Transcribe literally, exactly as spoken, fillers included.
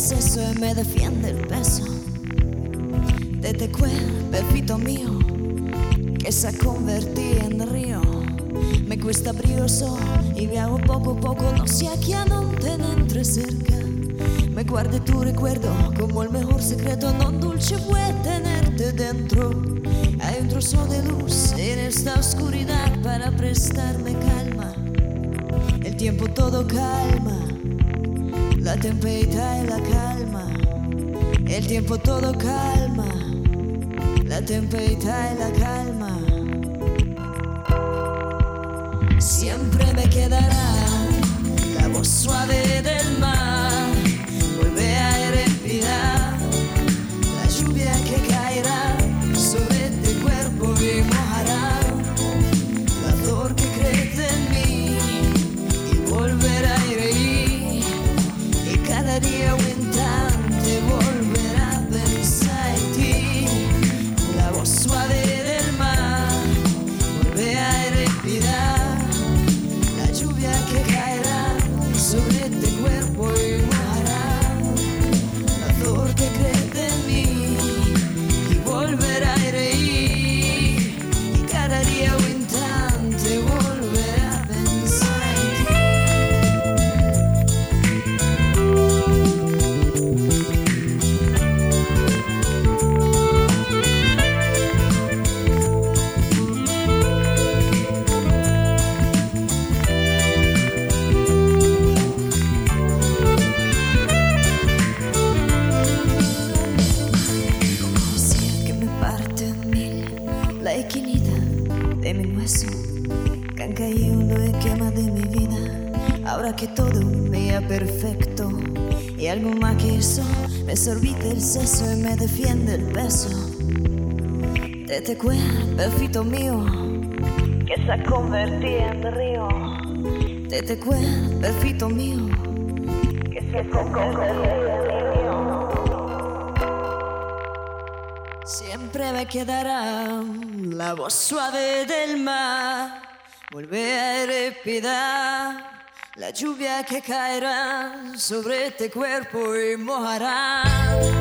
seso y me defiende el peso de este cuerpecito mío que se ha convertido en río. Me cuesta brioso y viajo poco a poco, no sé a quién non te ne entre cerca. Me guarde tu recuerdo como el mejor secreto, non dulce fue tenerte dentro. Hay un trozo de luz en esta oscuridad para prestarme calma. El tiempo todo calma, la tempestad y la calma. El tiempo todo calma, la tempestad y la calma. Siempre me quedará la voz suave del mar. Vuelve a respirar la lluvia que caerá sobre este cuerpo y mojará la flor que crece en mí y volverá a reír. Y cada día un instante volverá a pensar en ti. La voz suave del mar vuelve a respirar que caerá sobre este cuerpo y mojará la flor que crece en mí y volverá a reír. Y cada día un instante volverá a pensar en ti. La esquinita de mi hueso que han caído de quema de mi vida. Ahora que todo me es perfecto y algo más que eso, me sorbite el seso y me defiende el peso de este cuerpecito mío que se ha convertido en río. De este cuerpecito mío que se ha convertido en río. Siempre me quedará la voz suave del mar. Vuelve a respirar la lluvia que caerá sobre este cuerpo y mojará